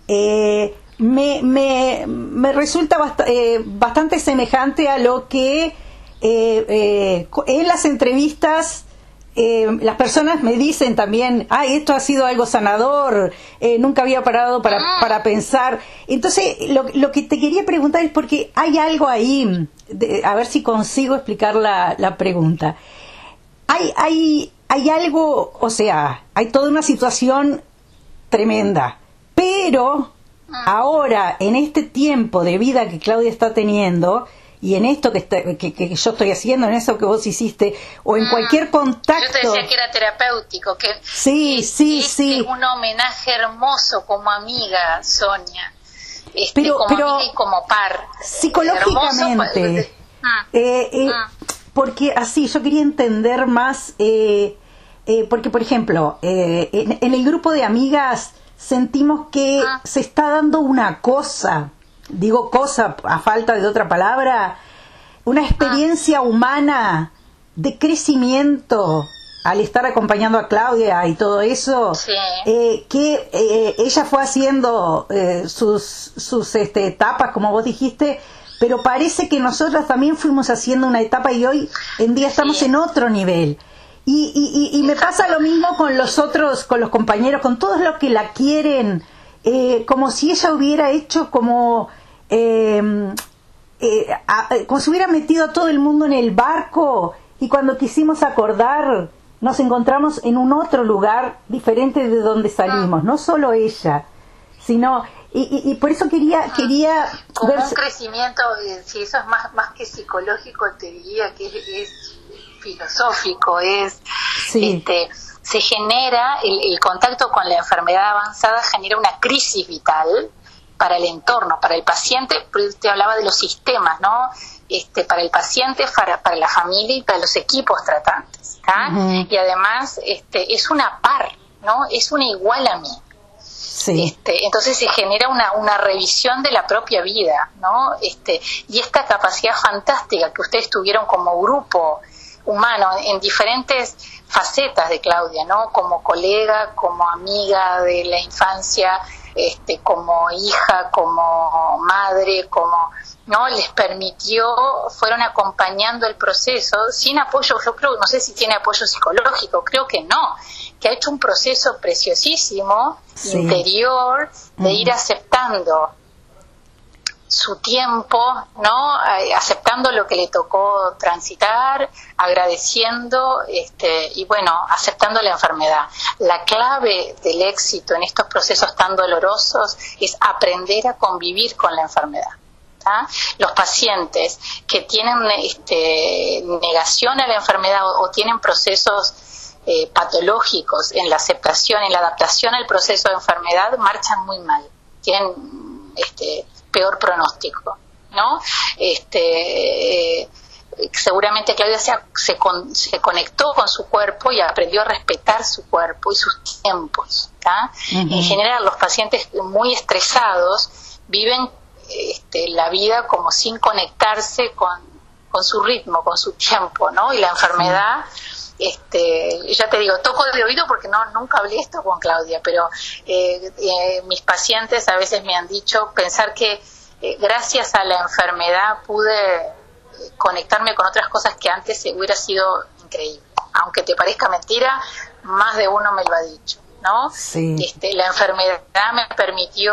me resulta bastante semejante a lo que en las entrevistas las personas me dicen también, esto ha sido algo sanador, nunca había parado para pensar. Entonces lo que te quería preguntar es porque hay algo ahí, a ver si consigo explicar la pregunta. Hay hay algo, o sea, hay toda una situación tremenda, pero ahora, en este tiempo de vida que Claudia está teniendo, y en esto que yo estoy haciendo, en eso que vos hiciste, o en cualquier contacto... Yo te decía que era terapéutico, que sí. un homenaje hermoso como amiga, Sonia, como amiga y como par. Psicológicamente, porque así yo quería entender más, porque por ejemplo, en el grupo de amigas sentimos que se está dando una cosa, digo cosa a falta de otra palabra, una experiencia humana de crecimiento al estar acompañando a Claudia y todo eso, que ella fue haciendo sus etapas, como vos dijiste, pero parece que nosotras también fuimos haciendo una etapa y hoy en día estamos en otro nivel. Y me pasa lo mismo con los otros, con los compañeros, con todos los que la quieren, como si ella hubiera hecho como si hubiera metido a todo el mundo en el barco, y cuando quisimos acordar nos encontramos en un otro lugar diferente de donde salimos, no solo ella, sino... Y por eso quería como un crecimiento, si eso es más que psicológico, te diría que es filosófico, se genera el contacto con la enfermedad avanzada, genera una crisis vital para el entorno, para el paciente. Te hablaba de los sistemas, ¿no? Para el paciente, para la familia y para los equipos tratantes, y además es una par, ¿no? Es una igual a mí. Entonces se genera una revisión de la propia vida, ¿no? Y esta capacidad fantástica que ustedes tuvieron como grupo humano en diferentes facetas de Claudia, ¿no? Como colega, como amiga de la infancia, como hija, como madre, ¿no? Les permitió, fueron acompañando el proceso sin apoyo. Yo creo, no sé si tiene apoyo psicológico, creo que no, que ha hecho un proceso preciosísimo interior de ir aceptando su tiempo, ¿no? Aceptando lo que le tocó transitar, agradeciendo y bueno, aceptando la enfermedad. La clave del éxito en estos procesos tan dolorosos es aprender a convivir con la enfermedad. Los pacientes que tienen negación a la enfermedad o tienen procesos patológicos en la aceptación, en la adaptación al proceso de enfermedad, marchan muy mal, tienen peor pronóstico, ¿no? Seguramente Claudia se conectó con su cuerpo y aprendió a respetar su cuerpo y sus tiempos. En general, los pacientes muy estresados viven la vida como sin conectarse con su ritmo, con su tiempo, ¿no? Y la enfermedad, ya te digo, toco de oído porque nunca hablé esto con Claudia, pero mis pacientes a veces me han dicho pensar que gracias a la enfermedad pude conectarme con otras cosas que antes hubiera sido increíble. Aunque te parezca mentira, más de uno me lo ha dicho, ¿no? La enfermedad me permitió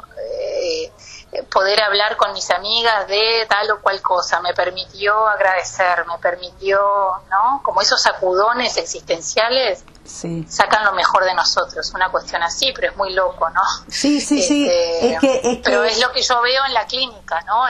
poder hablar con mis amigas de tal o cual cosa, me permitió agradecer, me permitió, ¿no? Como esos sacudones existenciales sacan lo mejor de nosotros, una cuestión así, pero es muy loco, ¿no? Pero es lo que yo veo en la clínica, ¿no?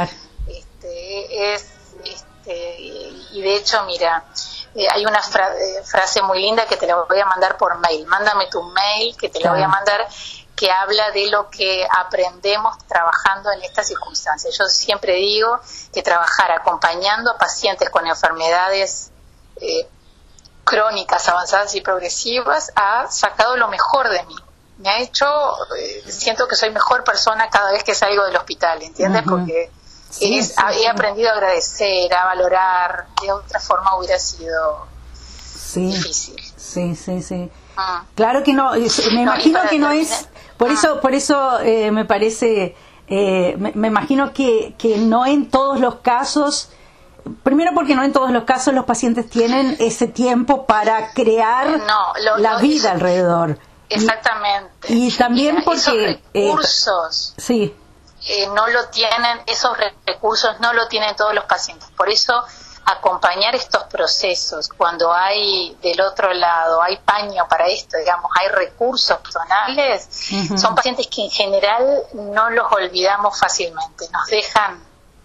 Y de hecho, mira, hay una frase muy linda que te la voy a mandar por mail. Mándame tu mail, que te la voy a mandar, que habla de lo que aprendemos trabajando en estas circunstancias. Yo siempre digo que trabajar acompañando a pacientes con enfermedades crónicas, avanzadas y progresivas ha sacado lo mejor de mí. Me ha hecho, siento que soy mejor persona cada vez que salgo del hospital, ¿entiendes? Porque he aprendido a agradecer, a valorar. De otra forma hubiera sido difícil. Claro que no, me imagino que no es, por eso me parece, me imagino que no en todos los casos, primero porque no en todos los casos los pacientes tienen ese tiempo para crear la vida alrededor. Exactamente. Y también porque esos recursos no lo tienen, esos recursos no lo tienen todos los pacientes. Por eso acompañar estos procesos cuando hay del otro lado, hay paño para esto, digamos, hay recursos personales, son pacientes que en general no los olvidamos fácilmente, nos dejan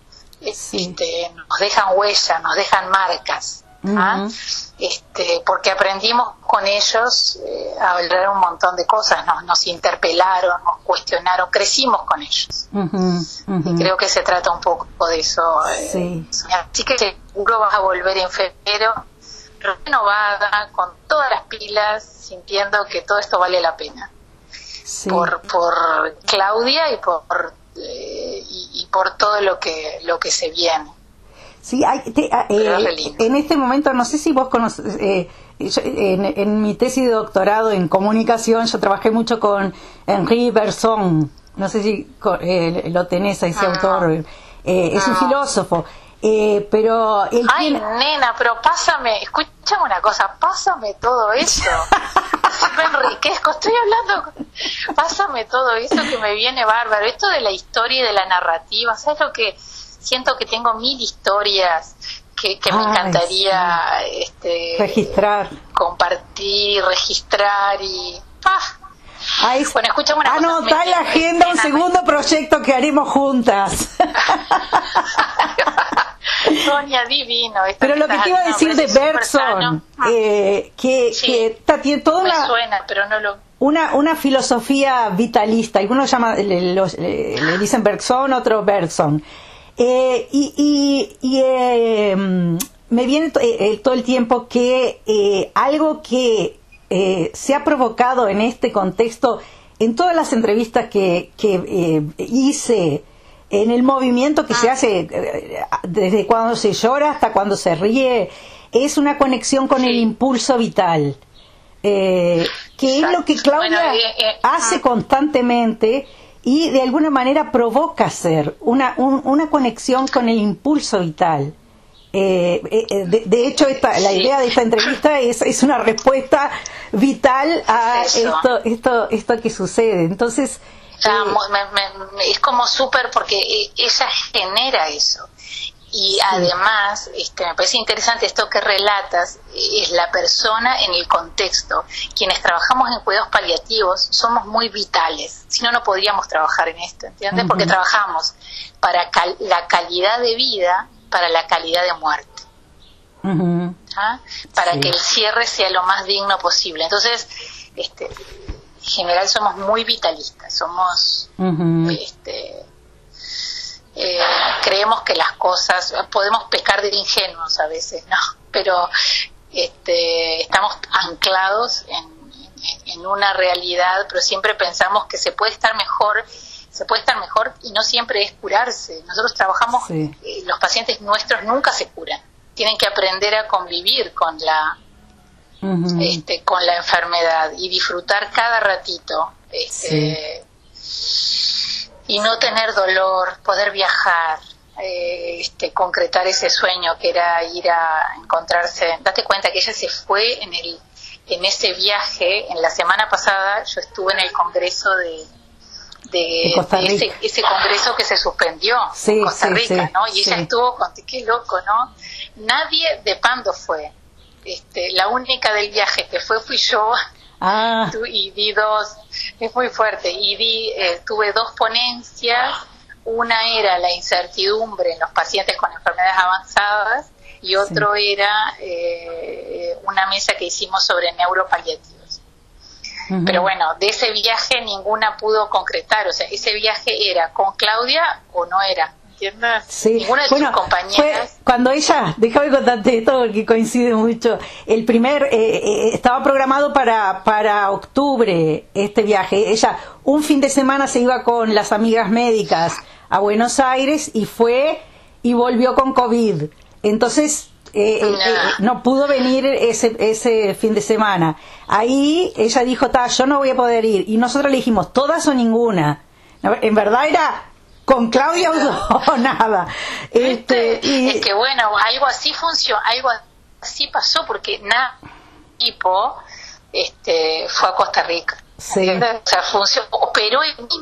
huellas, nos dejan marcas. Porque aprendimos con ellos a hablar un montón de cosas, nos interpelaron, nos cuestionaron, crecimos con ellos. Y creo que se trata un poco de eso. Así que seguro vas a volver en febrero renovada, con todas las pilas, sintiendo que todo esto vale la pena. Por Claudia y por todo lo que se viene. Sí, en este momento, no sé si vos conoces, en mi tesis de doctorado en comunicación, yo trabajé mucho con Henri Bergson, no sé si lo tenés a ese autor, es un filósofo, pero él nena, pero escúchame una cosa, pásame todo eso. Me enriquezco, estoy hablando, pásame todo eso que me viene bárbaro, esto de la historia y de la narrativa, ¿sabes lo que? Siento que tengo 1000 historias que me encantaría registrar, compartir, registrar y... Bueno, escuchame una cosa. Anotá en la agenda un segundo proyecto que haremos juntas. Sonia, divino. Pero lo que te iba a decir de Bergson, que tiene toda me suena, pero no lo... una filosofía vitalista, algunos le dicen Bergson, otros Bergson. Me viene todo el tiempo que algo que se ha provocado en este contexto, en todas las entrevistas que hice, en el movimiento que se hace desde cuando se llora hasta cuando se ríe, es una conexión con el impulso vital, que es lo que Claudia hace constantemente. Y de alguna manera provoca hacer una conexión con el impulso vital. De hecho, la idea de esta entrevista es una respuesta vital a esto que sucede. Entonces, es como súper, porque ella genera eso. Y además, me parece interesante esto que relatas, es la persona en el contexto. Quienes trabajamos en cuidados paliativos somos muy vitales, si no, no podríamos trabajar en esto, ¿entiendes? Porque trabajamos para la calidad de vida, para la calidad de muerte. Para que el cierre sea lo más digno posible. Entonces, en general somos muy vitalistas, somos... creemos que las cosas, podemos pecar de ingenuos a veces, ¿no? Pero estamos anclados en una realidad, pero siempre pensamos que se puede estar mejor y no siempre es curarse. Nosotros trabajamos, los pacientes nuestros nunca se curan, tienen que aprender a convivir con la con la enfermedad y disfrutar cada ratito, y no tener dolor, poder viajar, concretar ese sueño que era ir a encontrarse. Date cuenta que ella se fue en ese viaje. En la semana pasada yo estuve en el congreso de Costa Rica. Ese congreso que se suspendió en Costa Rica, ¿no? Y ella estuvo qué loco, ¿no? Nadie de Pando fue. La única del viaje que fui yo. Y di dos, es muy fuerte, y tuve 2 ponencias. Una era la incertidumbre en los pacientes con enfermedades avanzadas y otro era una mesa que hicimos sobre neuropaliativos. Pero bueno, de ese viaje ninguna pudo concretar, o sea, ese viaje era con Claudia o no era. Ninguna de tus compañeras. Cuando ella, déjame contarte esto porque coincide mucho. El primer estaba programado para octubre este viaje. Ella un fin de semana se iba con las amigas médicas a Buenos Aires y fue y volvió con COVID. Entonces no pudo venir ese fin de semana. Ahí ella dijo, yo no voy a poder ir. Y nosotros le dijimos, todas o ninguna. En verdad era con Claudia o nada. Es que bueno, algo así funcionó, algo así pasó, porque tipo fue a Costa Rica. O sea, operó el mismo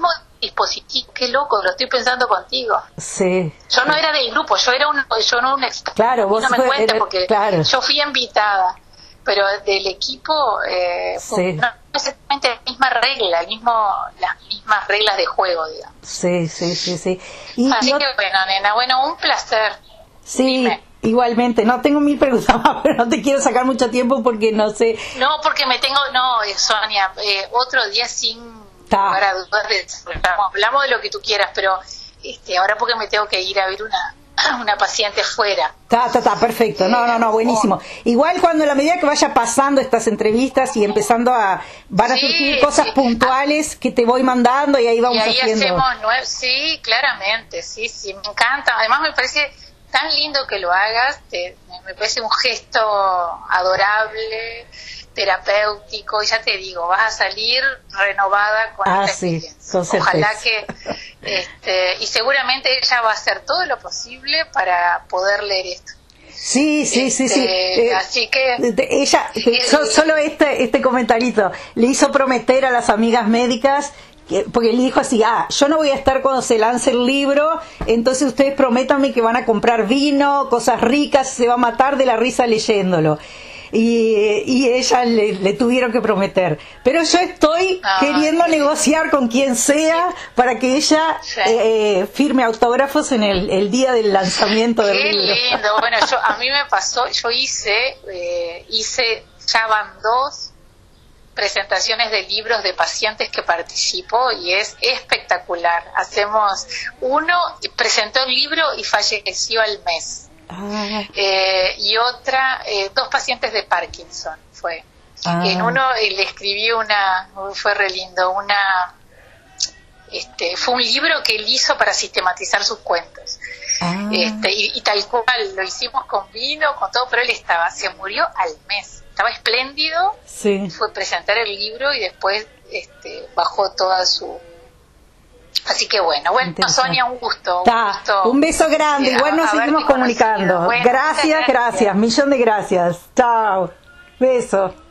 dispositivo. Qué loco, lo estoy pensando contigo. Sí. Yo no era del grupo, yo no un experto. Claro, vos no me cuenta porque claro. Yo fui invitada, pero del equipo sí. no exactamente la misma regla, las mismas reglas de juego, digamos. Sí. Así que bueno, nena, un placer. Sí. Dime. Igualmente, no tengo 1000 preguntas más, pero no te quiero sacar mucho tiempo porque no sé. No, porque Sonia, otro día sin lugar a dudas hablamos de lo que tú quieras, pero ahora porque me tengo que ir a ver una paciente fuera. Está, perfecto. No, buenísimo. Igual cuando a la medida que vaya pasando estas entrevistas y empezando van a surgir cosas puntuales que te voy mandando y ahí vamos haciendo. Sí, claramente, sí, me encanta. Además me parece tan lindo que lo hagas, me parece un gesto adorable, terapéutico, y ya te digo, vas a salir renovada con esta experiencia. Ojalá que y seguramente ella va a hacer todo lo posible para poder leer esto. Sí. Así que ella solo este comentarito le hizo prometer a las amigas médicas, porque le dijo así, yo no voy a estar cuando se lance el libro, entonces ustedes prométanme que van a comprar vino, cosas ricas, se va a matar de la risa leyéndolo. Y ella le tuvieron que prometer. Pero yo estoy queriendo negociar con quien sea para que ella firme autógrafos en el día del lanzamiento del libro. Qué lindo. Bueno, a mí me pasó, yo hice, ya van 2 presentaciones de libros de pacientes que participo y es espectacular. Presentó el libro y falleció al mes. Y otra, 2 pacientes de Parkinson fue. En uno le escribí fue re lindo, fue un libro que él hizo para sistematizar sus cuentos. Y tal cual, lo hicimos con vino, con todo, pero él se murió al mes. Estaba espléndido, fue presentar el libro y después bajó toda su... Así que bueno, Sonia, un gusto. Un beso grande, igual nos seguimos comunicando. Gracias, millón de gracias. Chao, beso.